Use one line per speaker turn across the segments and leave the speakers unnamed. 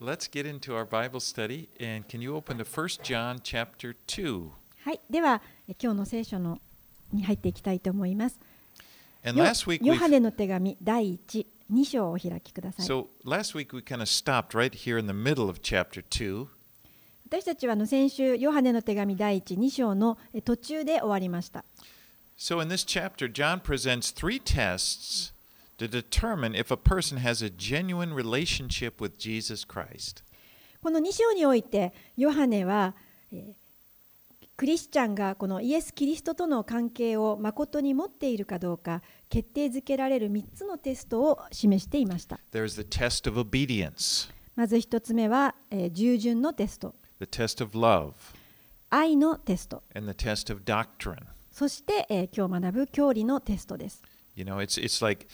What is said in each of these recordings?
let's get into our Bible study. And can you open to 1 John chapter 2?
はい、では今日の聖書に入っていきたいと思います。
And last week
ヨハネの手紙第1、2章をお開きください。
So last week we kind of stopped right here in the middle of chapter 2.
私たちは先週、ヨハネの手紙第1、2章の途中で終わりました。
So in this chapter, John presents three tests to determine if a person has a genuine relationship with Jesus Christ.
この2章において、ヨハネは、クリスチャンがこのイエス・キリストとの関係を誠に持っているかどうか決定づけられる3つのテストを示していました。
There's the test of obedience,
まず1つ目は、従順のテスト、
the test of love,
愛のテスト、
and the test of doctrine.
そして、今日学ぶ教理のテストです。
You know, it's like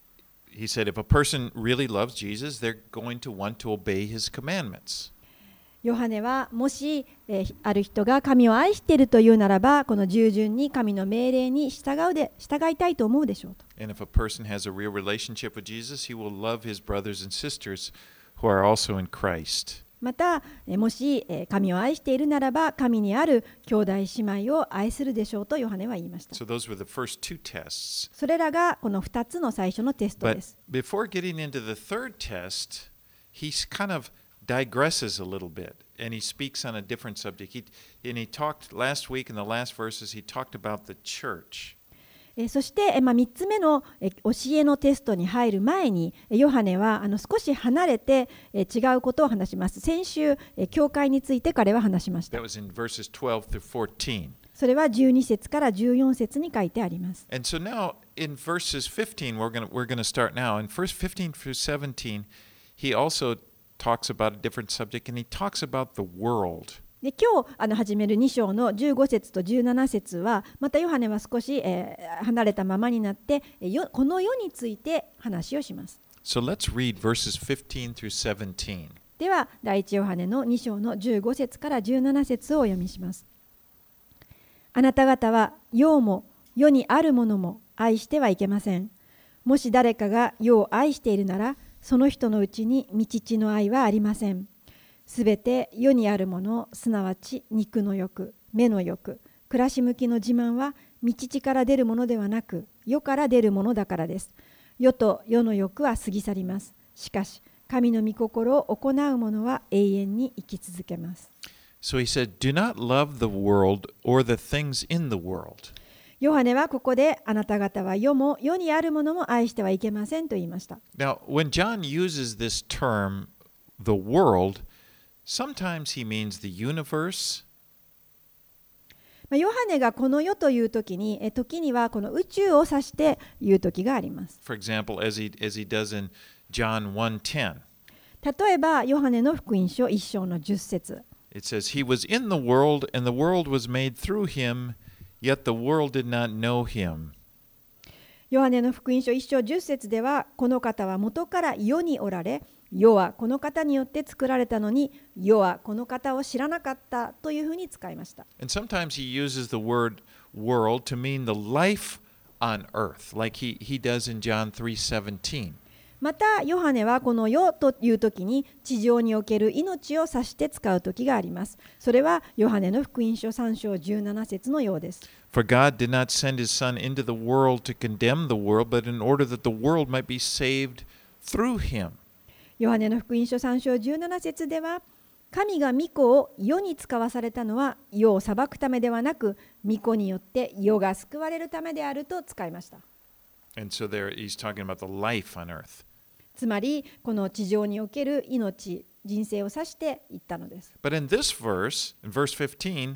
he said, if a person really loves Jesus, they're going to want to obey his commandments.
ヨハネはもし、ある人が神を愛しているというならば、この従順に神の命令に従いたいと思うでしょうと。
And if a person has a real relationship with Jesus, he will love his brothers and sisters who are also in Christ.
また、もし神を愛しているならば、神にある兄弟姉妹を愛するでしょうとヨハネは言いました。
So those were the first two tests.
それらがこの2つの最初のテストで
But
す。
before getting into the third test, he kind of digresses a little bit and he speaks on a different subject. And he talked last week in the last verses, he talked about the church.
そして、3つ目の教えのテストに入る前に、ヨハネは少し離れて違うことを話します。先週、教会について彼は話しました。
That was in verses 12 through 14.
それは12節から14節に書いてあります。
And so now in verses 15, we're going to start now. In verse 15 through 17, he also talks about a different subject and he talks about the world.
で今日始める2章の15節と17節はまたヨハネは少し、離れたままになってこの世について話をします。
So let's read verses 15 through 17.
では第一ヨハネの2章の15節から17節をお読みします。あなた方は世も世にあるものも愛してはいけません。もし誰かが世を愛しているならその人のうちに御父の愛はありません。すべて世にあるもの、すなわち肉の欲、目の欲、暮らし向きの自慢は御父から出るものではなく、世から出るものだからです。世と世の欲は過ぎ去ります。しかし、神の御心を行う者は永遠に生き続けます。
So he said, do not love the world or the things in the world.
ヨハネはここであなた方は世も世にあるものも愛してはいけませんと言いました。
Now, when John uses this term, the world, sometimes he means the universe.
ヨハネがこの世という時に、時にはこの宇宙を指して言う時があります。
For example, as he does in John 1:10.
例えば、ヨハネの福音書1章の10節。
It says, He was in the world, and the world was made through him, yet the world did not know him.
ヨハネの福音書1章10節では、この方は元から世におられ、世はこの方によって作られたのに、世はこの方を知らなかったというふうに使いました。
And sometimes he uses the word world to mean the life on earth, like he does in John 3:17.
また、ヨハネはこの世という時に地上における命を指して使う時があります。それはヨハネの福音書3章17節のようです。
For God did not send his Son into the world to condemn the world, but in order that the world might be saved through him.
ヨハネの福音書3章17節では、神が御子を世に使わされたのは世を裁くためではなく、御子によって世が救われるためであると使いました。
And so there he's talking about the life on earth.
つまり、この地上における命、人生を指して言ったのです。
But in this verse, in verse 15,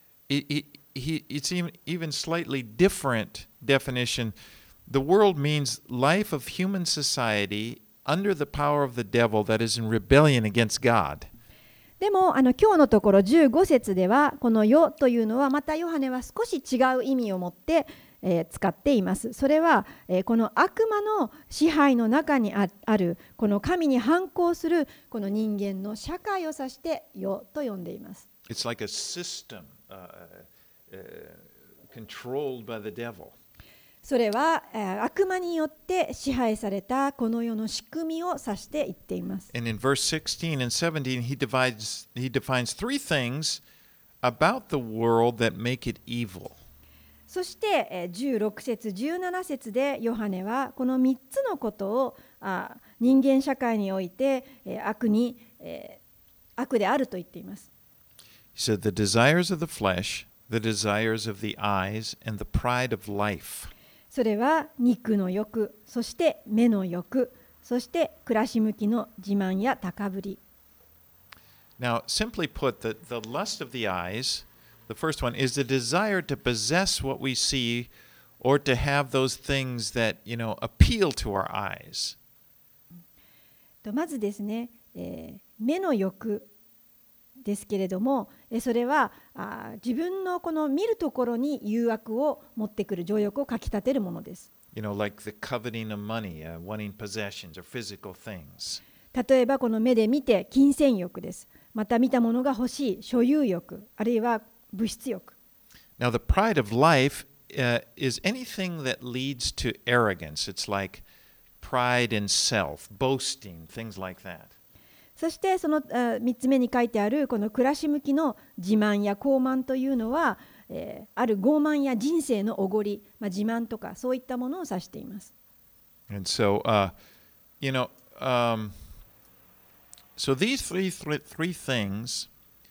it's even slightly different definition. The world means life of human society under the power of the devil that is in rebellion against God.
でも今日のところ15節ではこの世というのはまたヨハネは少し違う意味を持って、使っています。それは、この悪魔の支配の中にあるこの神に反抗するこの人間の社会を指して世と呼んでいます。
It's like a system controlled by the devil.
それは悪魔によって支配されたこの世の仕組みを指して言っています。
And in verse 16 and 17, he defines three things about the world that make it evil.
そして16節17節でヨハネはこの3つのことを人間社会において悪であると言っています。
He said, the desires of the flesh, the desires of the eyes, and the pride of life.
それは肉の欲、そして目の欲、そして暮らし向きの自慢や高ぶり。
Now, simply put, the lust of the eyes, the first one, is the desire to possess what we see or to have those things that, appeal to our eyes.
まずですね、目の欲ですけれども、それは自分のこの見るところに誘惑を持ってくる、情欲をかき立てるものです。
Like the coveting of money, wanting possessions or physical things.
例えばこの目で見て金銭欲です。また見たものが欲しい所有欲、あるいは物質欲。
Now, the pride of life is anything that leads to arrogance. It's like pride in self, boasting, things like that.
そしてその3つ目に書いてあるこの暮らし向きの自慢や傲慢というのは、ある傲慢や人生のおごり、自慢とかそういったものを指しています。
And so, so these three things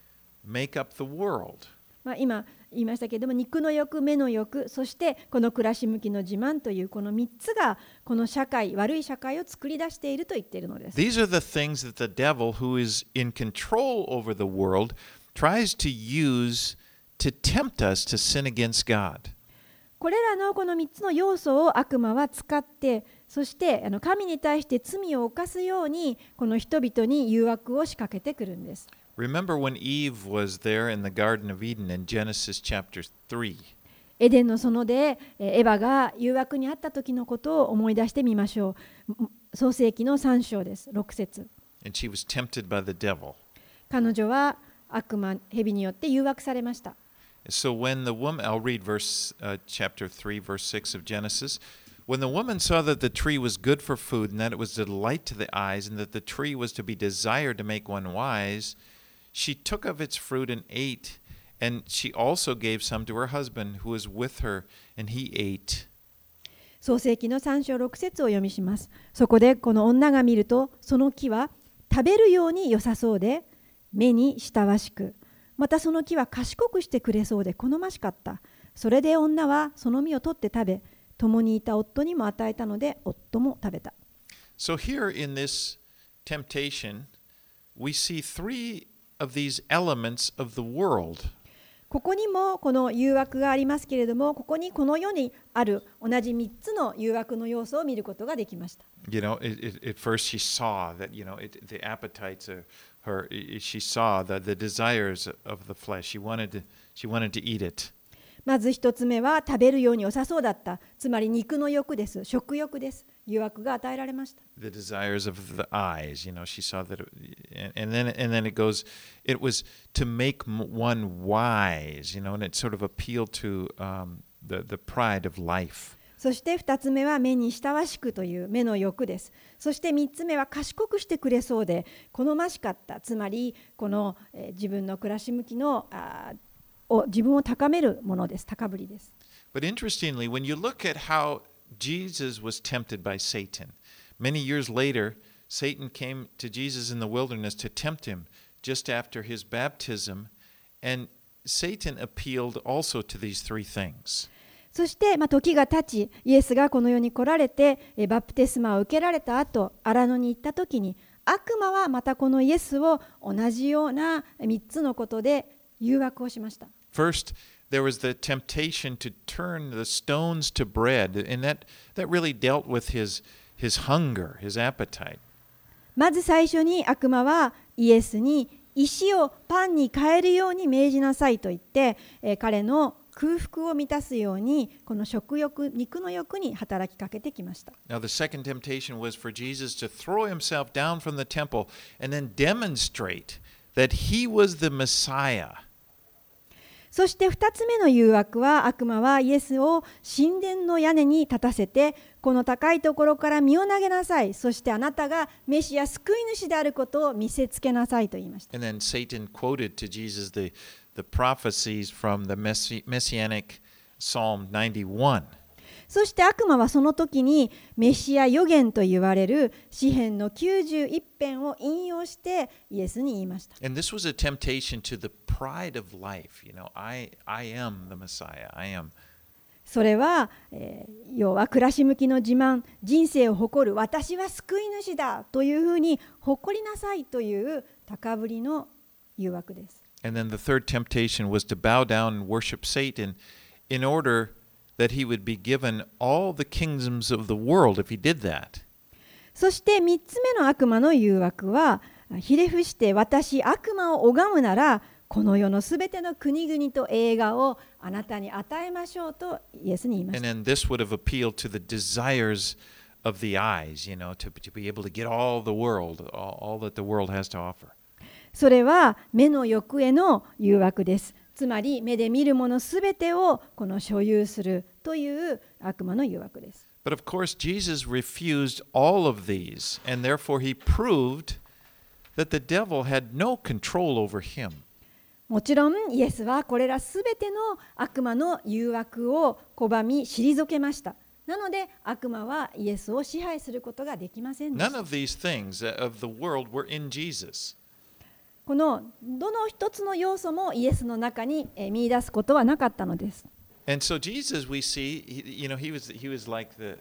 make up the world.
今言いましたけれども、肉の欲、目の欲、そしてこの暮らし向きの自慢というこの3つがこの社会、悪い社会を作り出していると言っているのです。
These are the things that the devil, who is in control over the world, tries to use to tempt us to sin against God.
これらのこの3つの要素を悪魔は使って、そして神に対して罪を犯すようにこの人々に誘惑を仕掛けてくるんです。
Remember when Eve was there in the Garden of Eden in Genesis chapter 3.
エデンの園でエヴァが誘惑にあった時のことを思い出してみましょう。創世記の3章です。6節。
And she was tempted by the devil.
彼女は悪魔、蛇によって誘惑されました。
So when the woman, I'll read chapter 3, verse 6 of Genesis. When the woman saw that the tree was good for food, and that it was a delight to the eyes, and that the tree was to be desired to make one wise, she took of its fruit and ate, and she also gave some to her husband who was with her, and he ate.
創世記の3章6節を読みします。そこでこの女が見ると、その木は食べるように良さそうで、目に親しく、またその木は賢くしてくれそうで好ましかった。それで女はその実を取って食べ、共にいた夫にも与えたので、夫も食べた。
So here in this temptation, we see three of these elements of the world.
ここにもこの誘惑がありますけれども、ここにこの世にある同じ3つの誘惑の要素を見ることができました。
At first she saw that, the appetites of her, she saw the desires of the flesh. She wanted to eat it.
まず一つ目は食べるように良さそうだった。つまり肉の欲です。食欲です。誘惑が与えられました。
The desires of the eyes, she saw that, and then it goes, it was to make one wise, and it sort of appealed to the pride of life.
そして2つ目は目に親しくという目の欲です。そして3つ目は賢くしてくれそうで好ましかった。つまりこの自分の暮らし向きの自分を高めるものです。高ぶりです。
But interestingly, when you look at how Jesus was tempted by Satan, many years later, Satan came to Jesus in the wilderness to tempt him just after his baptism, and Satan appealed also to these three things.
そして、時が経ち、イエスがこの世に来られて、バプテスマを受けられた後、荒野に行った時に、悪魔はまたこのイエスを同じような3つのことで誘惑をしました。
First, there was the temptation to turn the stones to bread, and that really dealt with his hunger, his appetite.
まず最初に悪魔はイエスに石をパンに変えるように命じなさいと言って、彼の空腹を満たすようにこの食欲、肉の欲に働きかけてきました。
Now the second temptation was for Jesus to throw himself down from the temple and then demonstrate that he was the Messiah.
そして2つ目の誘惑は、悪魔はイエスを神殿の屋根に立たせて、この高いところから身を投げなさい、そしてあなたがメシア救い主であることを見せつけなさいと言いました。
And then Satan quoted to Jesus the prophecies from the Messianic Psalm 91.
そして悪魔はその時にメシア預言と言われる詩編の91編を引用してイエスに言いました。
And this was a temptation to the pride of life. I am the Messiah. I am.
それは、要は暮らし向きの自慢、人生を誇る私は救い主だというふうに誇りなさいという高ぶりの誘惑です。
And then the third temptation was to bow down and worship Satan in order that he would be given all the kingdoms of the world if he did that.
そして3つ目の悪魔の誘惑は、ひれ伏して私悪魔を拝むならこの世のすべての国々と栄華をあなたに与えましょうとイエスに言いました。
And then this would have appealed to the desires of the eyes, to be able to get all the world, all that the world has to offer.
それは目の欲への誘惑です。つまり目で見るものすべてをこの所有するという悪魔の誘惑です。
But of course, Jesus refused all of these, and therefore he proved that the devil had no control over him.
もちろんイエスはこれらすべての悪魔の誘惑を拒み退けました。なので悪魔はイエスを支配することができませんでし
None
た。
of these things of the world were in Jesus.
このどの一つの要素もイエスの中に見出すことはなかったのです。
And so Jesus, we see, he was like the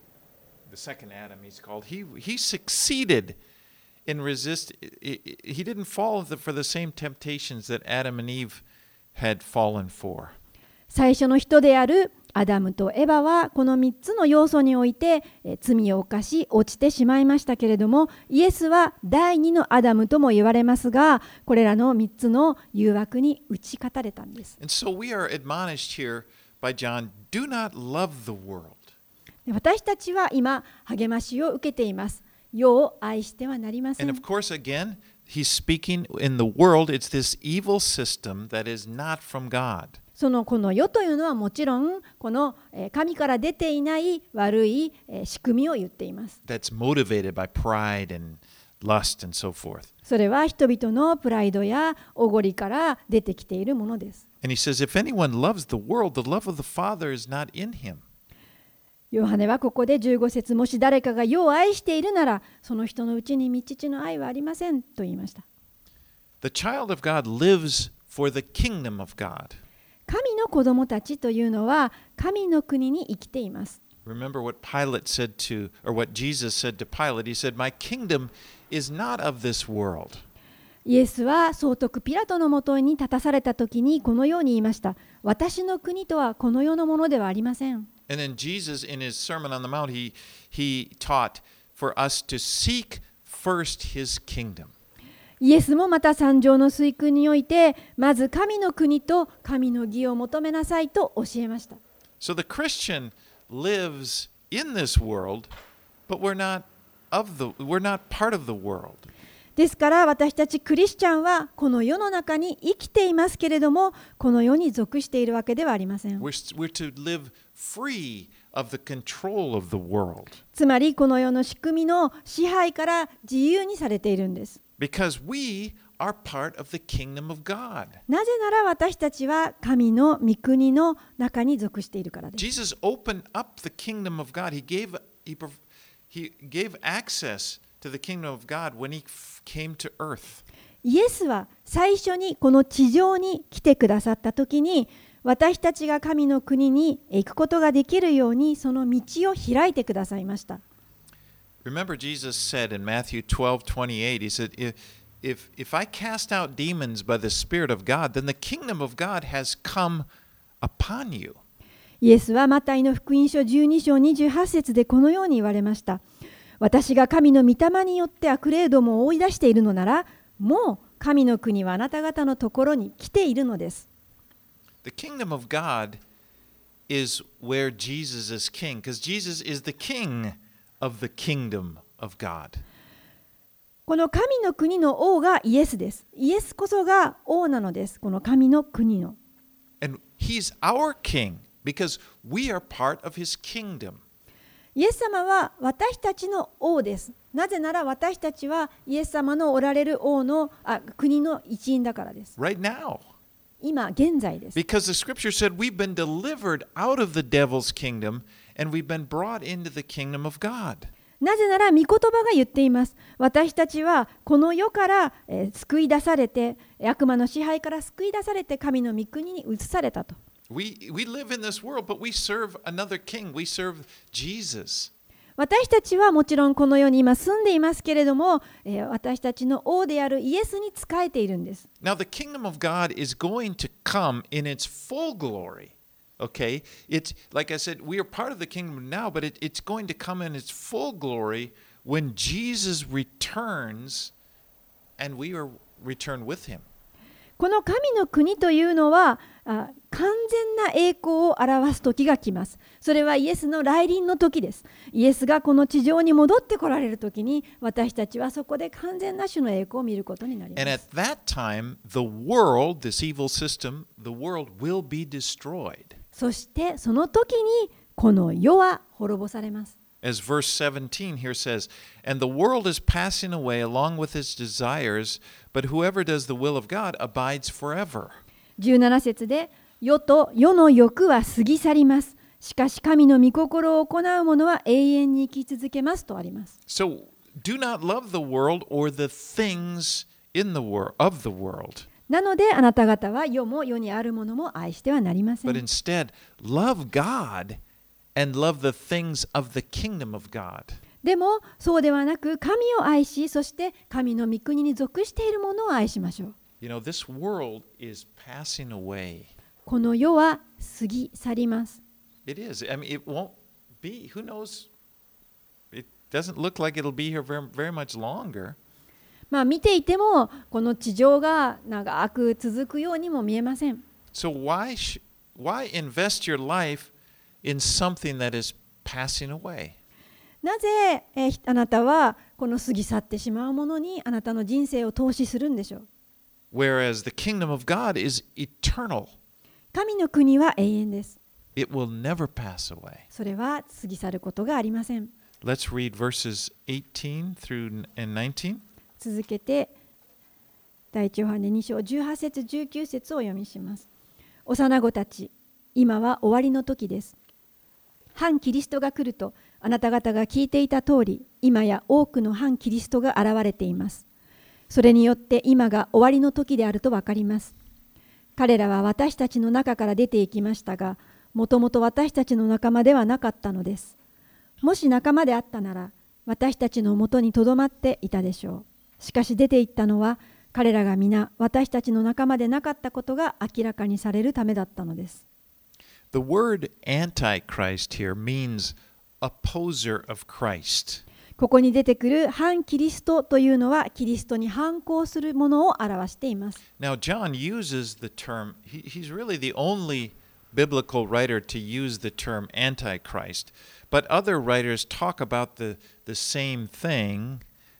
second Adam. He's called. He succeeded in resist. He didn't fall for the same temptations that Adam and Eve had fallen for.
最初の人であるアダムとエバはこの3つの要素において罪を犯し落ちてしまいましたけれども、イエスは第2のアダムとも言われますが、これらの3つの誘惑に打ち勝たれたんです。
And so we are admonished here by John, do not love the world.
私たちは今励ましを受けています。世を愛してはなりません。
And of course, again, he's speaking in the world. It's this evil system that is not from God.
この世というのはもちろんこの神から出ていない悪い仕組みを言っています。
That's motivated by pride and lust and so forth.
それは人々のプライドやおごりから出てきているものです。
And he says, if anyone loves the world, the love of the Father is not in him.
ヨハネはここで15節、もし誰かが世を愛しているならその人のうちに父の愛はありませんと言いました。
The child of God lives for the kingdom of God.
神の子供たちというのは神の国に生きています。
Remember what Pilate said to, or what Jesus said to Pilate. He said, my kingdom is not of this world.
イエスは総督ピラトのもとに立たされたときにこのように言いました。私の国とはこの世のものではありません。
And then Jesus, in his Sermon on the Mount, he taught for us to seek first his kingdom.
イエスもまた三条の水訓において、まず神の国と神の義を求めなさいと教えました。
So the Christian lives in this world, but we're not part of the world.
ですから私たちクリスチャンはこの世の中に生きていますけれども、この世に属しているわけではありません。
We're to live free of the control of the world.
つまりこの世の仕組みの支配から自由にされているんです。
Because we are part of the kingdom of God.
なぜなら私たちは神の御国の中に属しているからです。
Jesus opened up the kingdom of God. He gave access to the kingdom of God when he came to earth.
イエスは最初にこの地上に来てくださったときに、私たちが神の国に行くことができるようにその道を開いてくださいました。
Remember, Jesus said in Matthew 12:28, he said, if I cast out demons by the Spirit of God, then the kingdom of God has come upon you.
イエスはマタイの福音書12章28節でこのように言われました。私が神の御霊によって悪霊どもを追い出しているのなら、もう神の国はあなた方のところに来ているのです。
The kingdom of God is where Jesus is king, because Jesus is the king of the kingdom of God.
この神の国の王がイエスです。イエスこそが王なのです。この神の国の。
And he's our king because we are part of his kingdom.
イエス様は私たちの王です。なぜなら私たちはイエス様のおられる国の一員だからです。
Right now.
今現在です。
Because the scripture said we've been delivered out of the devil's kingdom and we've been brought into the kingdom of God.
なぜなら御言葉が言っています。私たちはこの世から、救い出されて、悪魔の支配から救い出されて神の御国に移されたと。
We live in this world, but we serve another king. We serve Jesus.
私たちはもちろんこの世に今住んでいますけれども、私たちの王であるイエスに仕えているんです。
Now, the kingdom of God is going to come in its full glory. Okay? It's like I said, we are part of the kingdom now, but it's going to come in its full glory when Jesus returns and we are returned with him.
この神の国というのは完全な栄光を表す時が来ます。それはイエスの来臨の時です。イエスがこの地上に戻ってこられる時に私たちはそこで完全な主の栄光を見ることになります。
And at that time, the world, this evil system, the world will be destroyed.
そしてその時にこの世は滅ぼされます。
As verse 17 here says, and the world is passing away along with its desires, but whoever does the will of God abides forever.
17節で、世と世の欲は過ぎ去ります。しかし神の御心を行う者は永遠に生き続けますとあります。
So do not love the world or the things in the world of the world.
なのであなた方は世も世にあるものも愛してはなりません。
But instead, love God and love the things of the kingdom of God.
でもそうではなく神を愛し、そして神の御国に属しているものを愛しましょう。
You know, this world is passing away.
この世は過ぎ去ります。
It is. I mean, it won't be. Who knows? It doesn't look like it'll be here very much longer.
見ていてもこの地上が長く続くようにも見えません。
So why invest your life in something that is passing away?
なぜ、あなたはこの過ぎ去ってしまうものにあなたの人生を投資するんでしょう。
Whereas the kingdom of God is eternal.
神の国は永遠です。
It will never pass away.
それは過ぎ去ることがありません。
Let's read verses 18 through and 19.
続けて第一ヨハネ2章18節19節をお読みします。幼子たち、今は終わりの時です。反キリストが来るとあなた方が聞いていた通り、今や多くの反キリストが現れています。それによって今が終わりの時であるとわかります。彼らは私たちの中から出ていきましたが、もともと私たちの仲間ではなかったのです。もし仲間であったなら、私たちのもとにとどまっていたでしょう。しかし出て行ったのは、彼らが皆私たちの仲間でなかったことが明らかにされるためだったのです。
The word Antichrist here means opposer of Christ.
ここに出てくる反キリストというのはキリストに反抗するものを表しています。
Now, John uses the term, he's really the only biblical writer to use the term Antichrist, but other writers talk about the same thing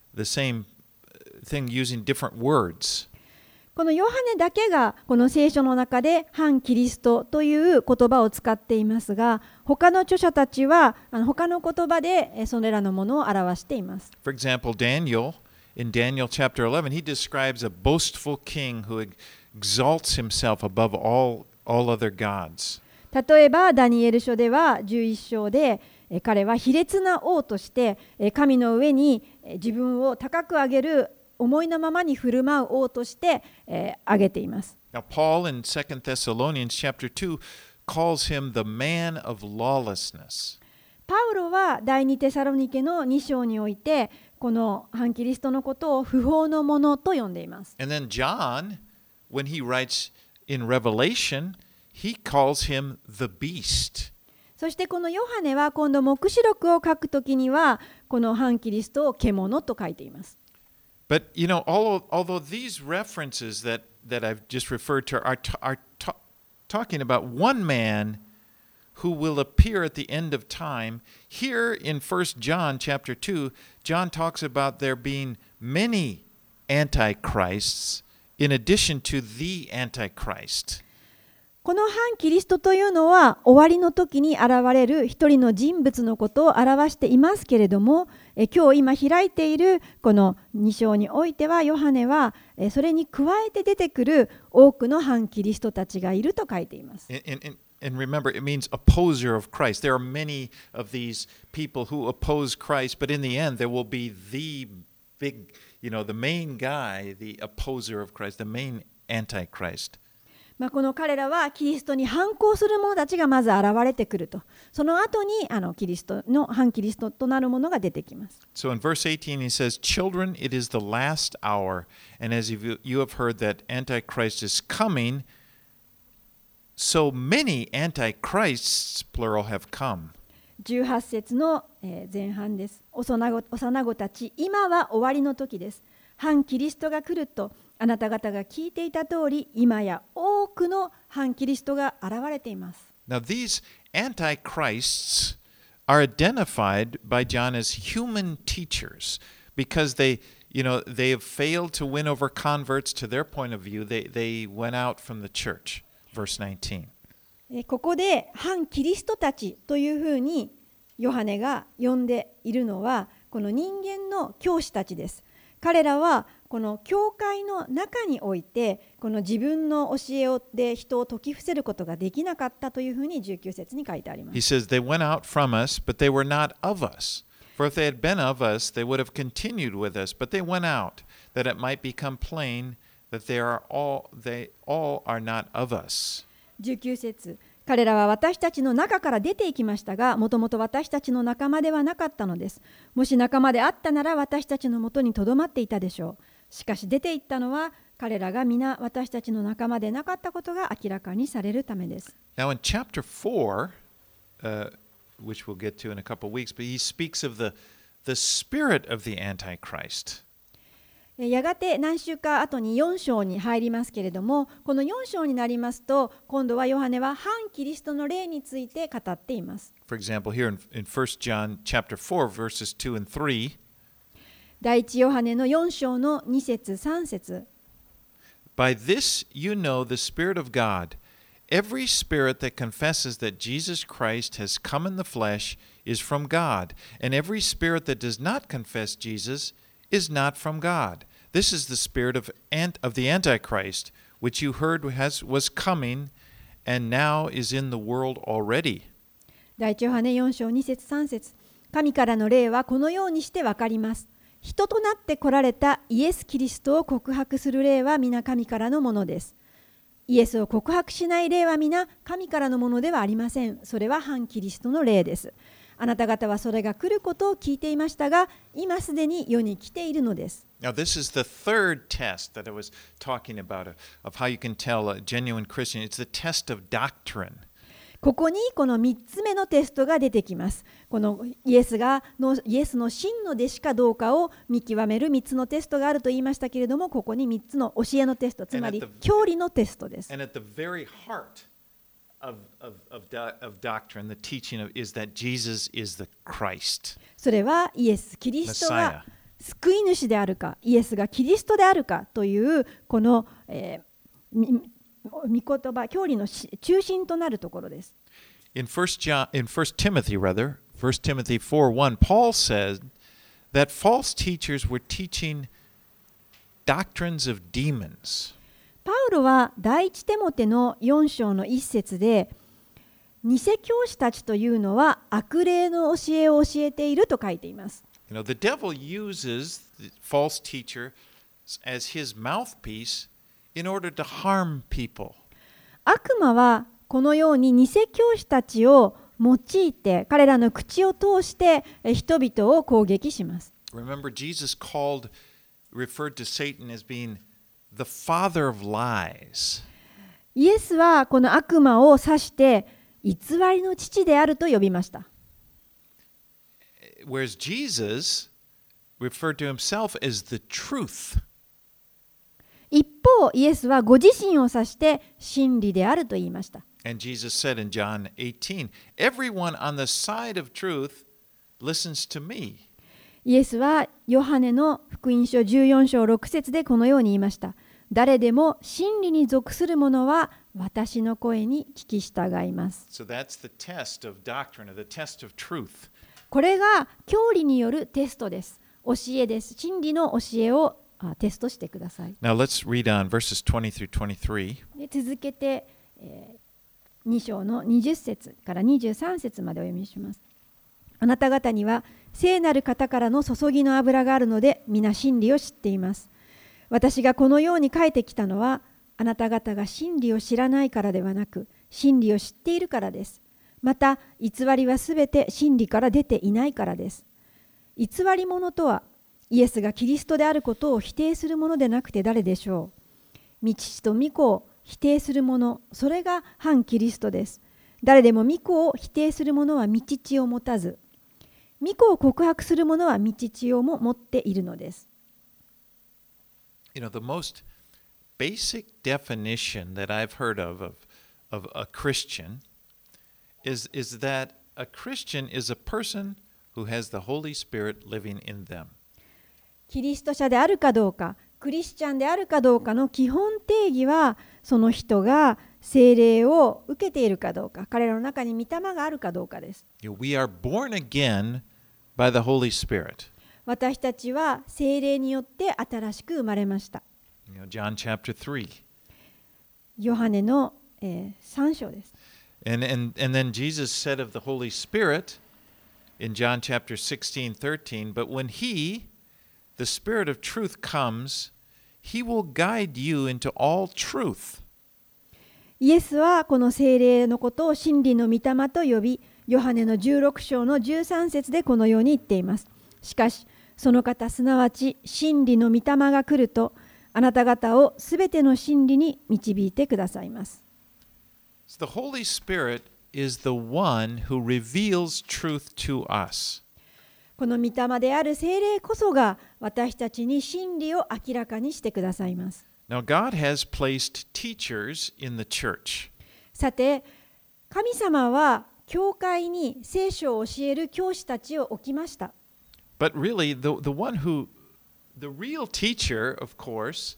using different words.
このヨハネだけがこの聖書の中で反キリストという言葉を使っていますが、他の著者たちは他の言葉でそれらのものを表しています。
For example, in Daniel chapter 11, he describes a boastful king who exalts himself above all other gods.
例えばダニエル書では11章で彼は卑劣な王として神の上に自分を高く上げる思いのままに振る舞う王として挙げています。
Now, Paul in 2 Thessalonians chapter 2 calls him the man of lawlessness.
パウロは第2テサロニケの2章においてこの反キリストのことを不法の者と呼んでいます。
And then John, when he writes in Revelation, he calls him the beast.
そしてこのヨハネは今度黙示録を書くときにはこの反キリストを獣と書いています。
But you know, although these references that I've just referred to are talking about one man who will appear at the end of time, here in 1 John chapter 2, John talks about there being many antichrists in addition to the Antichrist.
この反キリストというのは終わりの時に現れる一人の人物のことを表していますけれども、今日今開いているこの2章においてはヨハネはそれに加えて出てくる多くの反キリストたちがいると書いています。
And remember, it means opposer of Christ. There are many of these people who oppose Christ, but in the end, there will be the big, the main guy, the opposer of Christ, the main antichrist.
この彼らはキリストに反抗する者たちがまず現れてくると。その後にキリストの反キリストとなるものが出てきます。
So in verse 18 he says, Children, it is the last hour, and as you have heard that Antichrist is coming, so many antichrists, plural, have come.
18節の前半です。幼子たち、今は終わりの時です。反キリストが来るとあなた方が聞いていた通り、今や多くの反キリストが現れています。
Now these antichrists are identified by John as human teachers because they have failed to win over converts to their point of view. They went out from the church. Verse 19.
ここで反キリストたちというふうにヨハネが呼んでいるのはこの人間の教師たちです。彼らはこの教会の中においてこの自分の教えで人を説き伏せることができなかったというふうに19節に書いてあります。
He says, They went out from us, but they were not of us. For if they had been of us, they would have continued with us. But they went out, that it might become plain that they all are not of us.
19節彼らは私たちの中から出ていきましたが、もともと私たちの仲間ではなかったのです。もし仲間であったなら私たちのもとにとどまっていたでしょう。しかし出て行ったのは彼らが皆私たちの仲間でなかったことが明らかにされるためです。
Now in chapter 4, which we'll get to in a couple of weeks, but he speaks of the spirit of the Antichrist.
やがて何週か後に4章に入りますけれども、この4章になりますと、今度はヨハネは反キリストの霊について語っています。
For example, here in 1 John chapter 4, verses 2 and 3,
第一ヨハネの4章の2節3節
By this you know the Spirit of God. Every spirit that confesses that Jesus Christ has come in the flesh is from God, and every spirit that does not confess Jesus is not from God. This is the spirit of the Antichrist, which you heard was coming, and now is in the world already.
第一ヨハネ4章2節3節神からの霊はこのようにしてわかります。人となって来られたイエス・キリストを告白する霊は皆神からのものです。イエスを告白しない霊は皆神からのものではありません。それは反キリストの霊です。あなた方はそれが来ることを聞いていましたが、今すでに世に来ているのです。
Now, this is the third test that I was talking about of how you can tell a genuine Christian. It's the test of doctrine.
ここにこの3つ目のテストが出てきます。このイエスの真の弟子かどうかを見極める3つのテストがあると言いましたけれども、ここに3つの教えのテスト、つまり教理のテストです。
And at the very heart of doctrine, the teaching is that Jesus is the Christ.
それはイエス・キリストが救い主であるか、イエスがキリストであるかというこの、御言葉、教理の中心となるところです。
In 1 Timothy 4:1, Paul said that false teachers were teaching doctrines of demons.
パウロは第一テモテの4章の1節で、偽教師たちというのは悪霊の教えを教えていると書いています。
The devil uses the false teacher as his mouthpiece in order to harm people.
悪魔はこのように偽教師たちを用いて、彼らの口を通して人々を攻撃します。
Remember, Jesus referred to Satan as being the father of lies.
イエスはこの悪魔を指して偽りの父であると呼びました。
Whereas Jesus referred to himself as the truth.
一方、イエスはご自身を指して真理であると言いました。
And Jesus said in John 18, Everyone on the side of truth listens to me.
イエスはヨハネの福音書14章6節でこのように言いました。 誰でも真理に属する者は私の声に聞き従います。
So that's the test of doctrine, or the test of truth.
これが教理によるテストです。教えです。真理の教えをテストしてください。
Now let's read on verses 20 through 23.
で続けて、2章の20節から23節までお読みします。あなた方には聖なる方からの注ぎの油があるので皆真理を知っています。私がこのように書いてきたのはあなた方が真理を知らないからではなく真理を知っているからです。また偽りはすべて真理から出ていないからです。偽り者とはイエスがキリストであることを否定するものでなくて誰でしょう。御父と御子を否定する者、それが反キリストです。誰でも御子を否定する者は御父を持たず、御子を告白する者は御父をも持っているのです。
You know, the most basic definition that I've heard of a Christian is that a Christian is a person who has the Holy Spirit living in them.
キリスト者であるかどうか、クリスチャンであるかどうかの基本定義は、その人が聖霊を受けているかどうか、彼らの中に御霊があるかどうかです。
We are born again by the Holy Spirit.
私たちは聖霊によって新しく生まれました。
John chapter 3.
ヨハネの、3章です。
And then Jesus said of the Holy Spirit in John chapter 16:13, but when He, the Spirit of truth, comes, He will guide you into all truth.
イエスはこの聖霊のことを真理の御霊と呼び、ヨハネの16章の13節でこのように言っています。しかし、その方すなわち真理の御霊が来ると、あなた方をすべての真理に導いてくださいます。
So the Holy Spirit is the one who reveals truth to us.
この御霊である聖霊こそが私たちに真理を明らかにしてくださいます。
Now God has placed teachers in the church.
さて、神様は教会に聖書を教える教師たちを置きました。
But really, the real teacher, of course,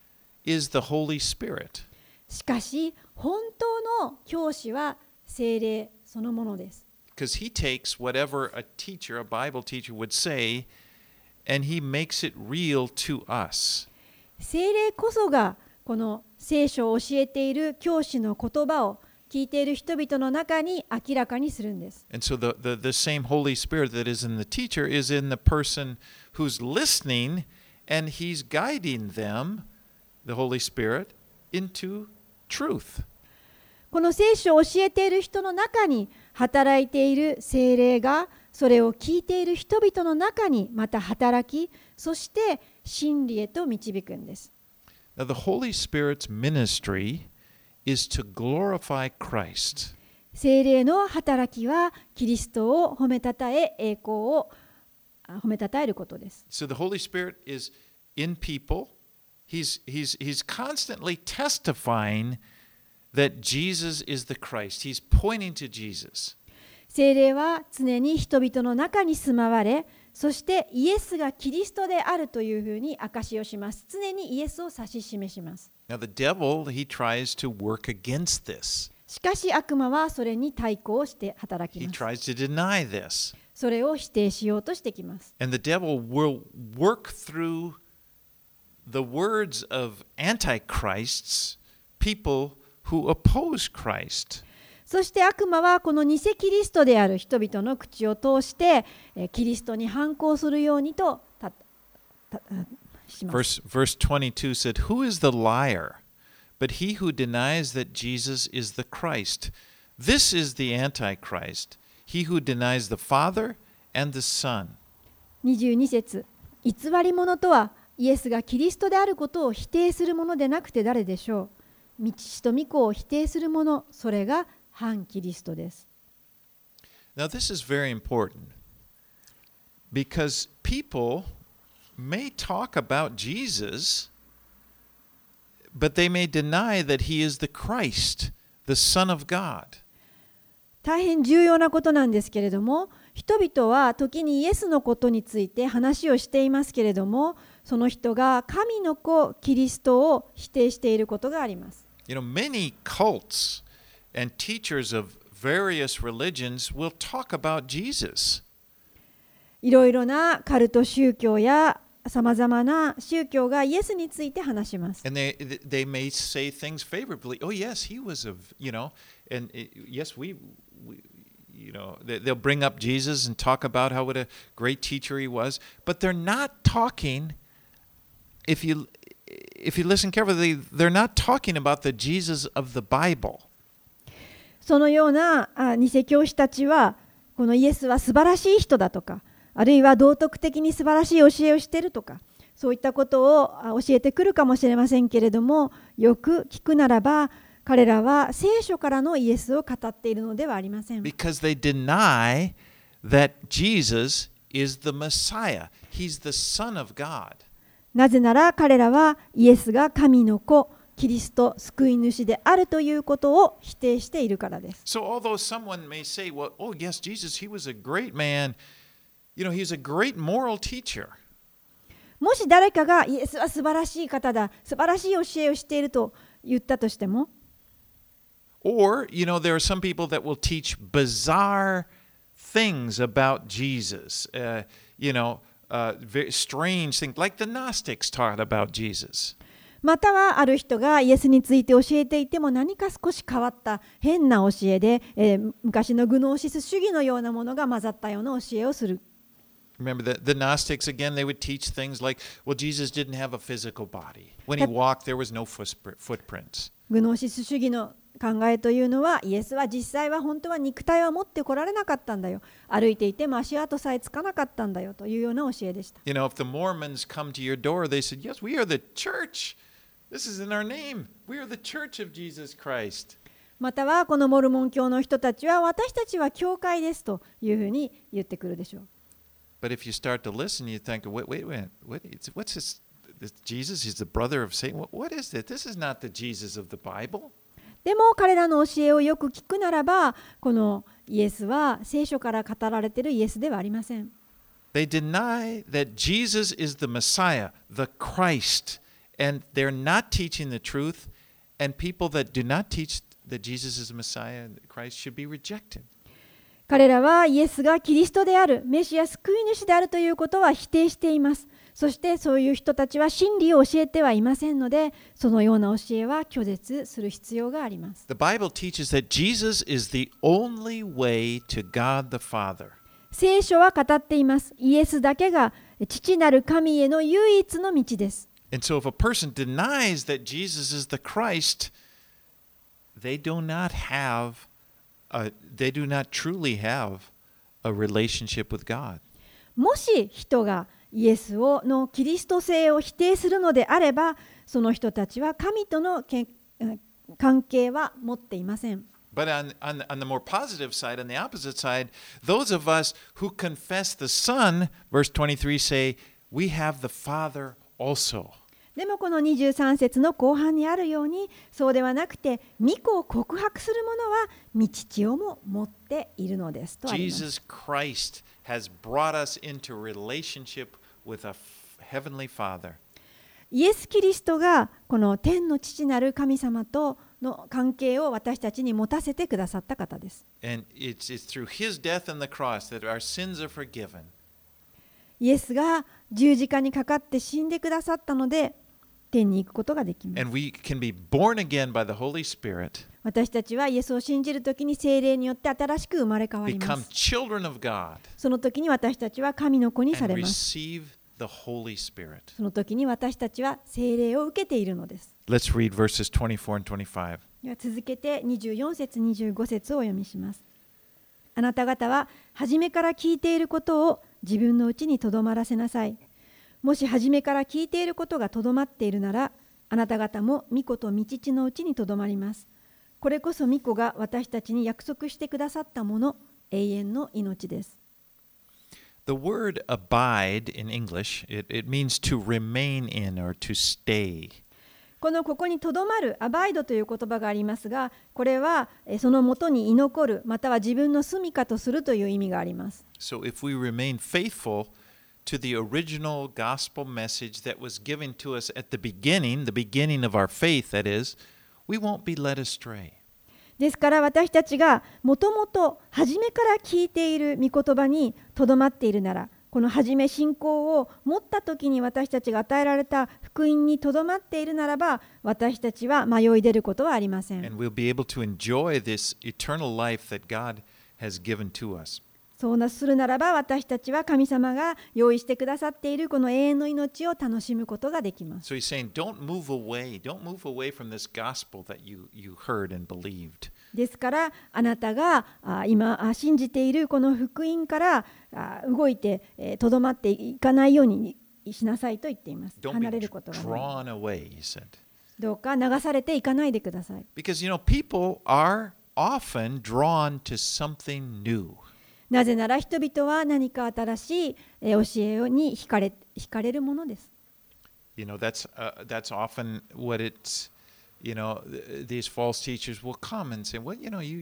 is the Holy Spirit.
しかし、本当の教師は聖霊そのものです。
Because he takes whatever a Bible teacher would say, and he makes it real to us.
聖霊こそがこの聖書を教えている教師の言葉を聞いている人々の中に明らかにするんです。
And so the same Holy Spirit that is in the teacher is in the person who's listening, and he's guiding them, the Holy Spirit, into truth.
この聖書を教えている人の中に働いている聖霊がそれを聞いている人々の中にまた働き、そして真理へと導くんです。
Now the Holy Spirit's ministry is to glorify Christ.
聖霊の働きはキリストを褒めたたえ、栄光を褒めたたえることです。
So the Holy Spirit is in people. He's constantly testifying that Jesus is the Christ. He's pointing to Jesus.
聖霊は常に人々の中に住まわれ、そしてイエスがキリストであるというふうに証しをします。常にイエスを指し示します。
Now the devil, he tries to work against this.
しかし悪魔はそれに対抗して働き
He
ます。
tries to deny this.
それを否定しようとしてきます。
And the devil will work through the words of antichrists, people who oppose Christ.
そして悪魔はこの偽キリストである人々の口を通してキリストに反抗するようにとします。
Verse 22 said, Who is the liar? But he who denies that Jesus is the Christ. This is the Antichrist, he who denies the Father and the Son.
22節、偽り者とはイエスがキリストであることを否定するものでなくて誰でしょう。御父と御子を否定する者、それが反キリストです。
Now this is very important because people may talk about Jesus, but they may deny that he is the Christ, the Son of God.
大変重要なことなんですけれども、人々は時にイエスのことについて話をしていますけれども、 その人が神の子キリストを否定していることがあります。
Many cults and teachers of various religions will talk about Jesus.
いろいろなカルト宗教やさまざまな宗教がイエスについて話します。
And they may say things favorably. Oh, yes, he was and yes, they'll bring up Jesus and talk about what a great teacher he was. But they're not talking, if you listen carefully, they're not talking about the Jesus of the Bible.
そのような偽教師たちは、このイエスは素晴らしい人だとか、あるいは道徳的に素晴らしい教えをしているとか、そういったことを教えてくるかもしれませんけれども、よく聞くならば、彼らは聖書からのイエスを語っているのではありません。
Because they deny that Jesus is the Messiah. He's the Son of God.
なぜなら彼らはイエスが神の子、キリスト、救い主であるということを否定しているからです。
So although someone may say, well, oh yes, Jesus, he was a great man. He's a great moral teacher.
もし誰かがイエスは素晴らしい方だ、素晴らしい教えをしていると言ったとしても、
Or, there are some people that will teach bizarre things about Jesus. Very strange things, like the Gnostics taught about Jesus.
またはある人がイエスについて教えていても何か少し変わった変な教えで、昔のグノーシス主義のようなものが混ざったような教えをする。
Remember the Gnostics again, they would teach things like, well, Jesus didn't have a physical body. When he walked, there was no footprints.
グノーシス主義の考えというのは、イエスは実際は本当は肉体は持ってこられなかったんだよ。歩いていても足跡さえつかなかったんだよというような教えでした。
If the Mormons come to your door, they said, yes, we are the church. This is in our name. We are the church of Jesus Christ.
またはこのモルモン教の人たちは私たちは教会ですというふうに言ってくるでしょう。
But if you start to listen, you think, wait, what's this Jesus? He's the brother of Satan. What is it? This is not the Jesus of the Bible.
でも彼らの教えをよく聞くならば、このイエスは聖書から語られているイエスではありません。
They deny that Jesus is the Messiah, the Christ, and they're not teaching the truth, and people that do not teach that Jesus is the Messiah and Christ should be rejected.
彼らはイエスがキリストである、メシア救い主であるということは否定しています。そしてそういう人たちは真理を教えてはいませんので、そのような教えは拒絶する必要があります。
The Bible teaches that Jesus is the only way to God the Father.
聖書は語っています。イエスだけが父なる神への唯一の道です。
And so if a person denies that Jesus is the Christ, they do not truly have a relationship with God.
もし人がイエスのキリスト性を否定するのであれば、その人たちは神との関係は持っていません。
But on the more positive side, on the opposite side, those of us who confess the Son, verse 23 say, we have the Father also.
でもこの23節の後半にあるように、そうではなくて、御子を告白する者は御父をも持っているのですとあります。
Jesus Christ has brought us into relationship with a heavenly Father.
イエス・キリストがこの天の父なる神様との関係を私たちに持たせてくださった方です。
And it's through his death on the cross that our sins are forgiven.
イエスが十字架にかかって死んでくださったので、天に行くことができます。
And we can be born again by the Holy Spirit.
私たちはイエスを信じるときに聖霊によって新しく生まれ変わりま
Become
す。
children of God
その時に私たちは神の子にさ
and
れます。
receive the Holy Spirit.
その時に私たちは聖霊を受けているのです。
Let's read verses 24 and 25.
では続けて24節25節をお読みします。あなた方は初めから聞いていることを自分のうちにとどまらせなさい。もし初めから聞いていることがとどまっているなら、あなた方も御子と御父のうちにとどまります。これこそ御子が私たちに約束してくださったもの、永遠の命です。
The word abide in English, it means to remain in or to stay.
ここにとどまる、アバイドという言葉がありますが、これはそのもとに居残る、または自分の住みかとするという意味があります。
So if we remain faithful to the original gospel message that was given to us at the beginning of our faith, that is, we won't be led astray.
ですから私たちがもともと初めから聞いている御言葉にとどまっているなら、この初め信仰を持った時に私たちが与えられた福音にとどまっているならば、私たちは迷い出ることはありません。
And we'll be able to enjoy this eternal life that God has given to us.
そうするならば、私たちは神様が用意してくださっているこの永遠の命を楽しむことができます。
So he's saying, don't move away from this gospel that you heard and believed.
ですからあなたが今信じているこの福音から動いてとどまっていかないようにしなさいと言っています。
Don't
離れ
be
ることがない。
drawn away, he said.
どうか流されていかないでください。
Because, people are often drawn to something new.
なぜなら人々は何か新しい教えに惹かれるものです。
That's often what it's, these false teachers will come and say, well,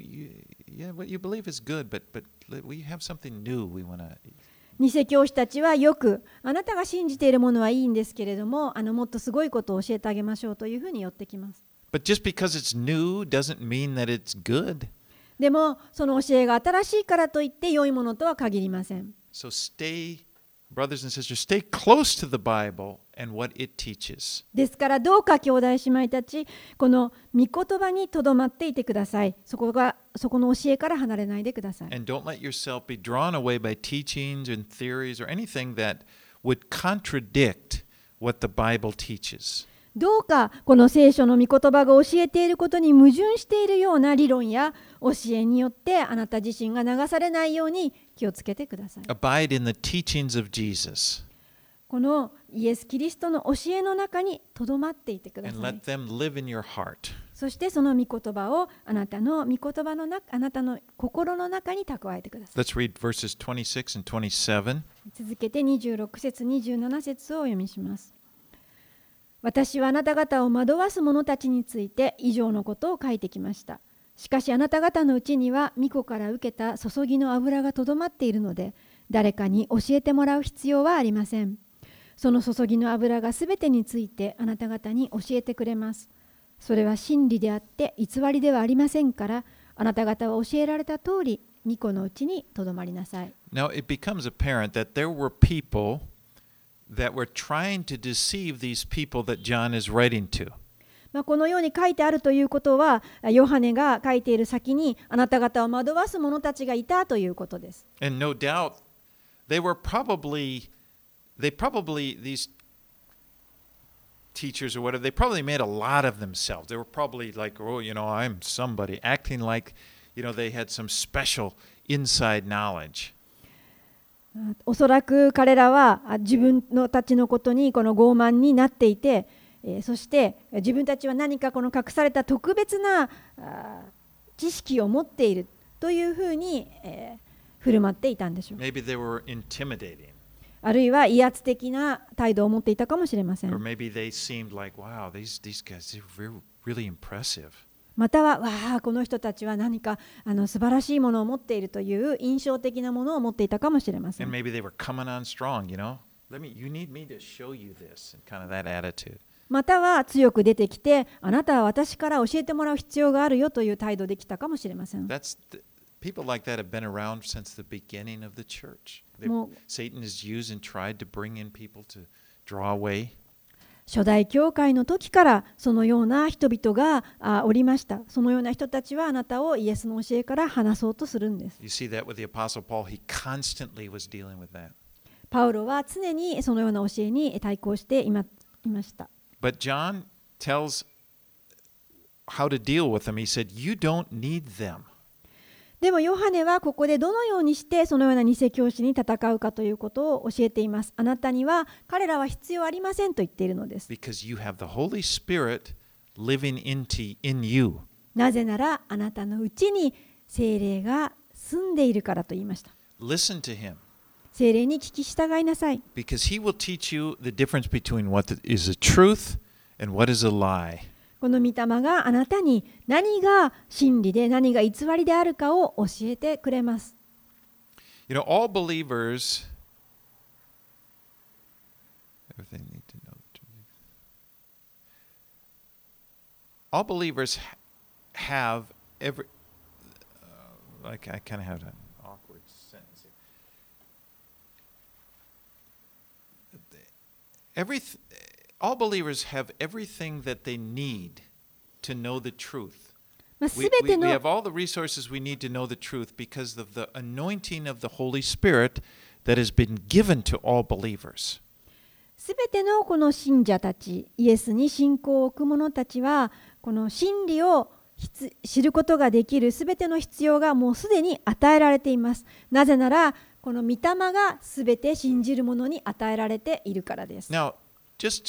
what you believe is good, but we have something new we want to.
偽教師たちはよくあなたが信じているものはいいんですけれども、もっとすごいことを教えてあげましょうというふうに寄ってきます。
But just because it's new doesn't mean that it's good.
でもその教えが新しいからといって良いものとは限りません。
So brothers and sisters, stay close to the Bible and what it teaches.
ですからどうか兄弟姉妹たち、この御言葉にとどまっていてください。そこの教えから離れないでください。
And don't let yourself be drawn away by teachings and theories or anything that would contradict what the Bible teaches.
どうかこの聖書の御言葉が教えていることに矛盾しているような理論や教えによってあなた自身が流されないように気をつけてください。
Abide in the teachings of Jesus.
このイエス・キリストの教えの中にとどまっていてくだ
And
さい。
let them live in your heart.
そしてその御言葉をあなたのあなたの心の中に蓄えてください。
Let's read verses 26 and 27.
続けて26節27節をお読みします。私はあなた方を惑わす者たちについて以上のことを書いてきました。しかしあなた方のうちには御子から受けた注ぎの油がとどまっているので、誰かに教えてもらう必要はありません。その注ぎの油がすべてについてあなた方に教えてくれます。それは真理であって偽りではありませんから、あなた方は教えられた通り、御子のうちにとどまりなさい。
Now it becomes apparent that there were people that were trying to deceive these people that John is writing to.
このように書いてあるということは、ヨハネが書いている先にあなた方を惑わす者たちがいたということです。
And no doubt they probably these teachers or whatever, they probably made a lot of themselves. They were probably like, oh, I'm somebody, acting like, they had some special inside knowledge.
おそらく彼らは自分たちのことにこの傲慢になっていて、そして自分たちは何かこの隠された特別な知識を持っているというふうに振る舞っていたんでしょう。
Maybe they were intimidating.
あるいは威圧的な態度を持っていたかもしれません。
Or maybe they seemed like, wow, these guys, they're really impressive.
または、わあ、この人たちは何か素晴らしいものを持っているという印象的なものを持っていたかもしれませ
And
ん。
maybe they were coming on strong, you need me to show you this, and kind of that attitude.
または強く出てきて、あなたは私から教えてもらう必要があるよという態度できたかもしれません。
People like that have been around since the beginning of the church. Satan has used and tried to bring in people to draw away.
初代教会の時からそのような人々がおりました。そのような人たちはあなたをイエスの教えから離そうとするんです。
You see that with the Apostle Paul, he constantly was dealing with that.
パウロは常にそのような教えに対抗していました。
But John tells how to deal with them. He said, you don't need them.
でもヨハネはここでどのようにしてそのような偽教師に戦うかということを教えています。あなたには彼らは必要ありませんと言っているのです。
Because you have the Holy Spirit living in you.
なぜならあなたのうちに聖霊が住んでいるからと言いました。
Listen to him.
聖霊に聞き従いなさい。
Because he will teach you the difference between what is a truth and what is a lie.
この御霊があなたに何が真理で何が偽りであるかを教えてくれます。
All believers Everything they need to know the truth. All believers have every. Like I kind of have an awkward sentence here. All believers have everything that they need to know the truth. We have all the resources we need to know the truth because of the anointing of the Holy Spirit that has been given to all believers.
すべてのこの信者たち、イエスに信仰を置く者たちは、この真理を知ることができるすべての必要がもうすでに与えられています。なぜなら、この御霊がすべて信じる者に与えられているからです。
Now, just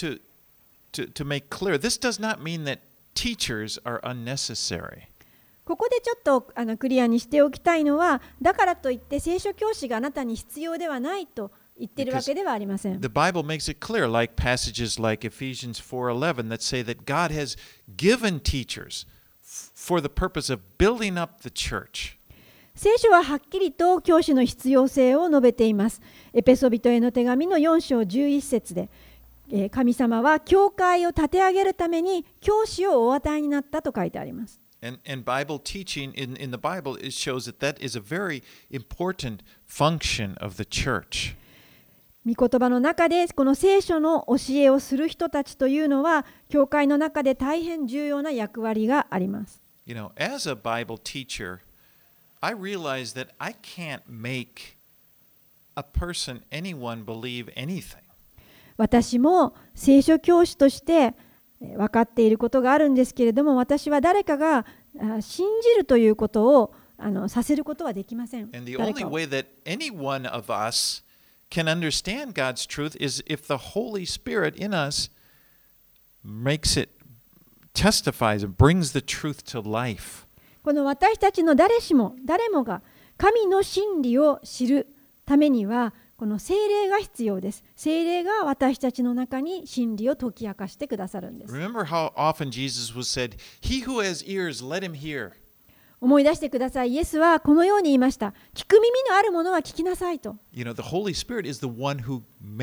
to make clear, this does not mean that teachers are unnecessary.
ここでちょっとクリアにしておきたいのは、だからといって聖書教師があなたに必要ではないと言っているわけではありません。
The Bible makes it clear, like passages like Ephesians 4:11 that say that God has given teachers for the purpose of building up the church.
聖書ははっきりと教師の必要性を述べています。エペソビトへの手紙の4章11節で、神様は教会を立て上げるために教師をお与えになったと書いてあります。
And Bible teaching in the Bible, it shows that that is a very important function of the church.
御言葉の中でこの聖書の教えをする人たちというのは教会の中で大変重要な役割があります。
You know, as a Bible teacher, I realize that I can't make a person, anyone believe anything.
私も聖書教師として分かっていることがあるんですけれども、私は誰かが信じるということをさせることはできません。
And the only way that any one of us can understand God's truth is if the Holy Spirit in us makes it, testifies and brings the truth to life.
この私たちの誰もが神の真理を知るためにはこの聖霊が必要です。聖霊が私たちの中に真理を解き明かしてくださるんです。
Remember how often Jesus was said, "He who has ears, let him hear."
思い出してください。イエスはこのように言いました。聞く耳のあるものは聞きなさいと。
You know, the Holy Spirit is the one who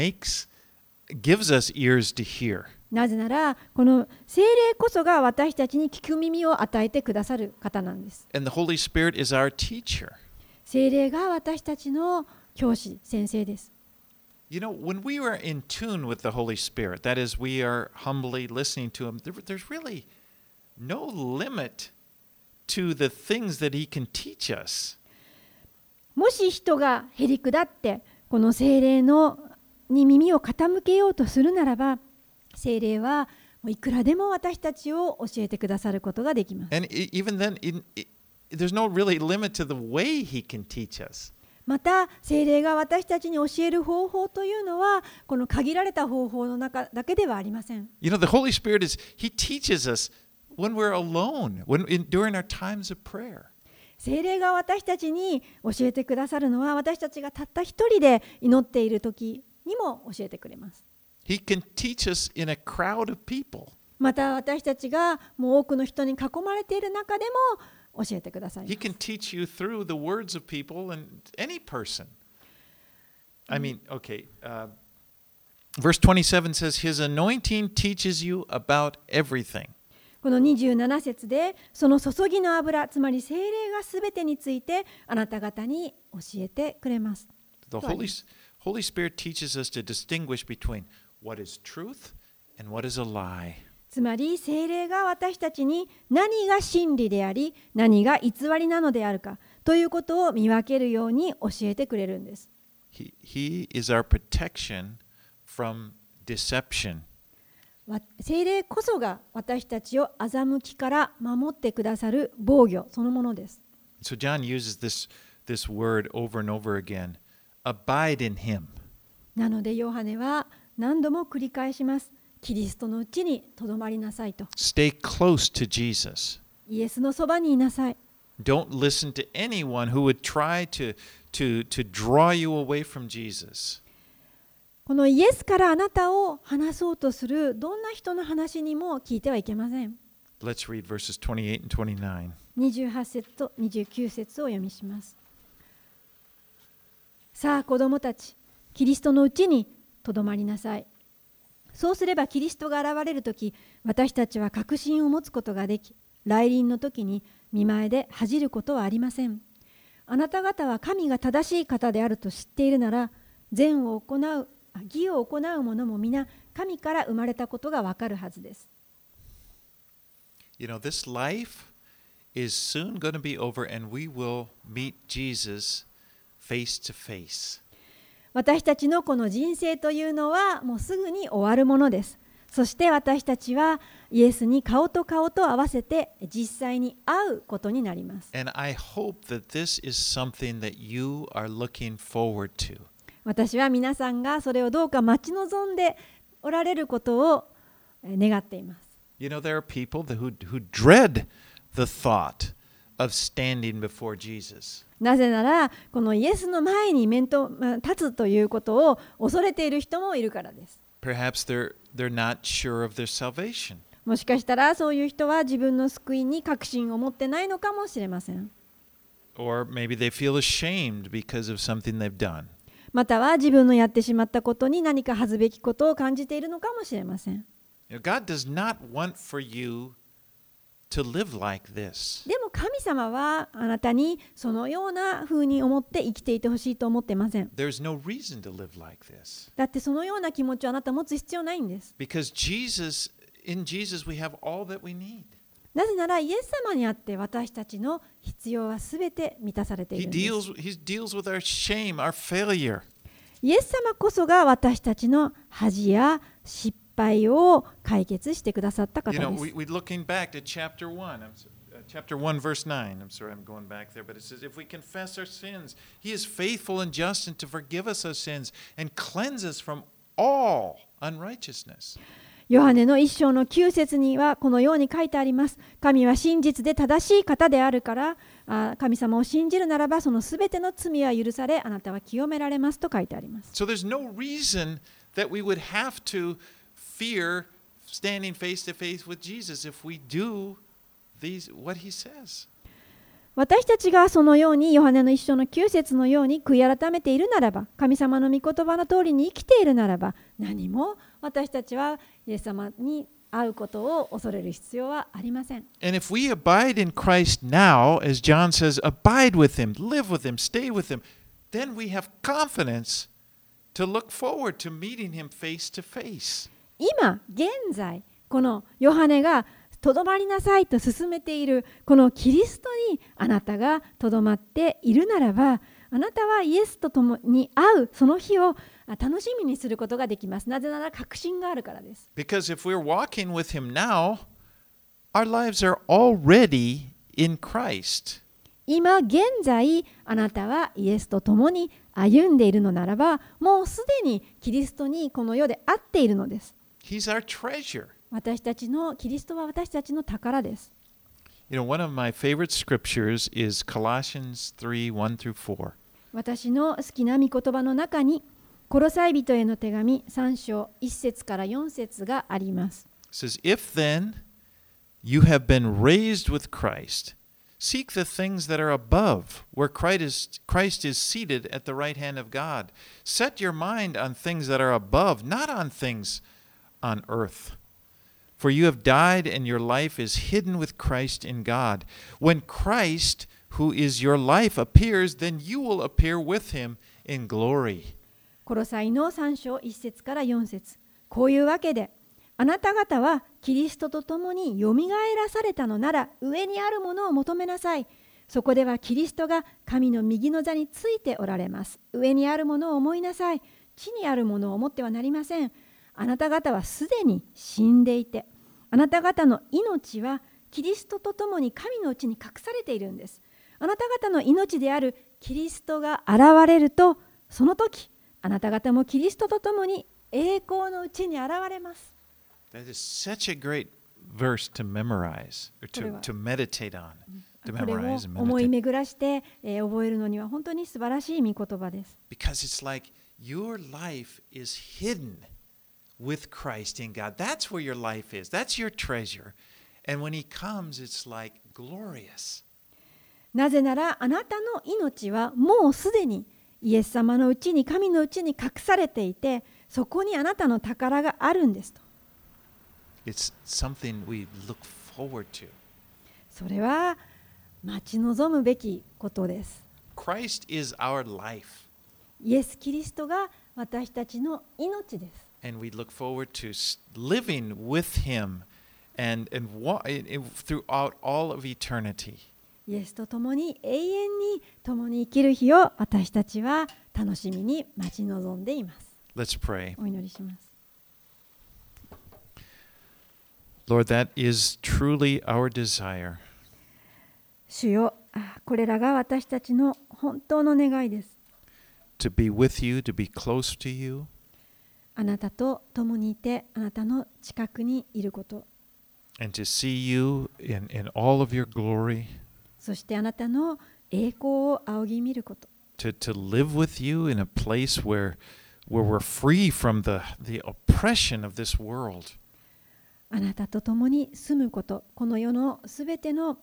gives us ears to hear.
なぜなら、この聖霊こそが私たちに聞く耳を与えてくださる方なんです。
And the Holy Spirit is our teacher.
聖霊が私たちの教師、先生です。
You know, when we are in tune with the Holy Spirit, that is, we are humbly listening to Him, there's really no limit to the things that He can teach us.
もし人がへりくだってこの聖霊に耳を傾けようとするならば、聖霊はもういくらでも私たちを教えてくださることができます。
And even then, there's no really limit to the way He can teach us.
また聖霊が私たちに教える方法というのはこの限られた方法の中だけではありません。
You know, the Holy Spirit He teaches us when we're alone, during our times of prayer.
聖霊が私たちに教えてくださるのは私たちがたった一人で祈っている時にも教えてくれます。
He can teach us in a crowd of people.
また私たちがもう多くの人に囲まれている中でも教えてくださいます。
He can teach you through the words of people and any person. I mean, okay. Verse 27 says, His anointing teaches you about everything.
この27節でその注ぎの油、つまり聖霊がすべてについてあなた方に教えてくれます。
The Holy Spirit teaches us to distinguish between what is truth and what is a lie.
つまり聖霊が私たちに何が真理であり何が偽りなのであるかということを見分けるように教えてくれるんです。
He is our protection from deception.
聖霊こそが私たちを欺きから守ってくださる防御そのものです。
So John uses this word over and over again. Abide in him.
なのでヨハネは何度も繰り返します。キリストのうちにとどまりなさいと。
Stay close to Jesus.
イエスのそばにいなさい。
Don't listen to anyone who would try to draw you away from Jesus.
このイエスからあなたを離そうとするどんな人の話にも聞いてはいけません。
Let's read verses 28 and 29.
28節と29節を読みします。さあ子供たち、キリストのうちにとどまりなさい。 そうすればキリストが現れるとき、私たちは確信を持つことができ、来臨の時に見前で恥じることはありません。あなた方は神が正しい方であると知っているなら、義を行う者も皆神から生まれたことがわかるはずです。
You know, this life is soon going to be over and we will meet Jesus face to face.
私たちのこの人生というのはもうすぐに終わるものです。そして私たちはイエスに顔と顔と合わせて実際に会うことになります。
And I hope that this is something that you are looking forward to.
私は皆さんがそれをどうか待ち望んでおられることを願っています。
You know, there are people who dread the thought of standing before Jesus.
なぜなら、このイエスの前に立つということを恐れている人もいるからです。
Perhaps they're not sure of their salvation.
もしかしたらそういう人は自分の救いに確信を持ってないのかもしれません。
Or maybe they feel ashamed because of something they've done.
または自分のやってしまったことに何か恥ずべきことを感じているのかもしれません。
You know, God does not want for you to live like this.
でも神様はあなたにそのような風に思って生きていてほしいと思っていません。
There's no reason to live like this.
だってそのような気持ちをあなた持つ必要ないんです。
Because in Jesus we have all that we need.
なぜならイエス様にあって私たちの必要はすべて満たされているんです。
He deals with our shame, our failure.
イエス様こそが私たちの恥や失敗を解決してくださった方です。
You know, we're looking back to chapter 1, verse 9. I'm sorry, I'm going back there, but it says, if we confess our sins, He is faithful and just and to forgive us our sins and cleanse us from all unrighteousness.
ヨハネの1章の9節にはこのように書いてあります。神は真実で正しい方であるから、神様を信じるならばそのすべての罪は許され、あなたは清められますと書いてあります。
So there's no reason that we would have to fear standing face to face with Jesus if we do what He says.
私たちがそのようにヨハネの1章の9節のように悔い改めているならば、神様の御言葉の通りに生きているならば、何も私たちはイエス様に会うことを恐れる必要はありません。
And if we abide in Christ now, as John says, abide with Him, live with Him, stay with Him, then we have confidence to look forward to meeting Him face to face.
今現在このヨハネがとどまりなさいと勧めているこのキリストにあなたがとどまっているならば、あなたはイエスと共に会うその日を楽しみにすることができます。なぜなら確信があるからです。
Because if we're walking with Him now, our lives are already in Christ.
今現在あなたはイエスと共に歩んでいるのならば、もうすでにキリストにこの世で会っているのです。
He's our treasure.
キリストは私たちの宝です。
You know, one of my favorite scriptures is Colossians 3:1 through 4.
私の好きな御言葉の中に、コロサイ人への手紙3章1節から4節があります。
It says, If then you have been raised with Christ, seek the things that are above, where Christ is seated at the right hand of God. Set your mind on things that are above, not on things on earth. For you have died, and your life is hidden with Christ in God. When Christ, who is your life, appears, then you will appear with Him in glory.
コロサイの3章1節から4節。こういうわけで、あなた方はキリストと共によみがえらされたのなら、上にあるものを求めなさい。そこではキリストが神の右の座についておられます。上にあるものを思いなさい。地にあるものを思ってはなりません。あなた方はすでに死んでいて、あなた方の命はキリストと共に神のうちに隠されているんです。あなた方の命であるキリストが現れると、その時、あなた方もキリストと共に栄光のうちに現れます。
That is such a great verse to memorize, or to meditate on.
これを思い巡らして覚えるのには本当に素晴らしい御言葉です。
Because it's like your life is hidden with Christ in God. That's where your life is. That's your treasure. And when He comes, it's like glorious.
なぜならあなたの命はもうすでにイエス様のうちに神のうちに隠されていて、 そこにあなたの宝があるんですと。
It's something we look forward to.
それは待ち望むべきことです。
Christ is our life,
イエス・キリストが私たちの命です。
and we look forward to living with Him and throughout all of eternity.
イエスと共に永遠に共に生きる日を私たちは楽しみに待ち望んでいます。
Let's pray.
お祈りします。
Lord, that is truly our desire.
主よ、これらが私たちの本当の願いです。
To be with you, to be close to you.
あなたと共にいて、あなたの近くにいること。
And to see you in all of your glory.
そしてあなたの栄光を仰ぎ見ること。
To live with you in a place where we're free from the oppression of this world.
あなたと共に住むこと。この世のすべての、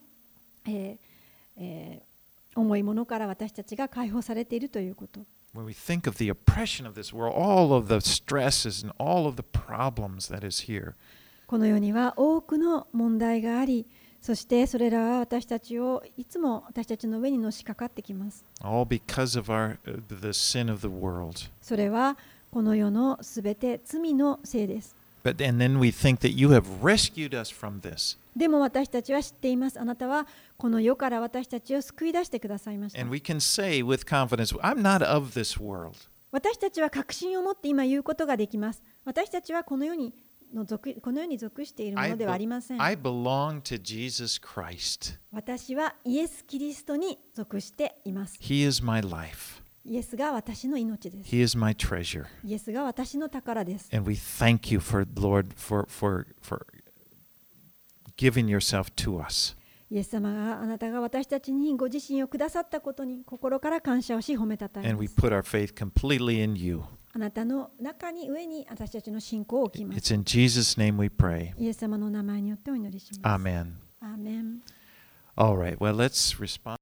重いものから私たちが解放されているということ。
When we think of the oppression of this world, all of the stresses and all of the problems that is here.
この世には多くの問題があり、そしてそれらは私たちをいつも私たちの上にのしかかってきます。
All because of the sin of the world.
それはこの世のすべて罪のせいです。
And then we think that you have rescued us from this.
でも私たちは知っています。あなたはこの世から私たちを救い出してくださいました。
And we can say with confidence, I'm not of this world.
私たちは確信を持って今言うことができます。私たちはこの世に属しているものではありません。
I belong to Jesus Christ.
私はイエス・キリストに属しています。
He is my life.
イエスが私の命です。
He is my treasure.
イエスが私の宝です。
And we thank you Lord, for giving yourself to us.
イエス様があなたが私たちにご自身をくださったことに心から感謝をし褒めたたえ
And
ま
we
す。
put our faith completely in you.
あなたの中に上に私たちの信仰を置きます。
It's in Jesus' name we pray.
イエス様の名前によってお祈りします。
Amen.
アーメン。
All right, well, let's respond.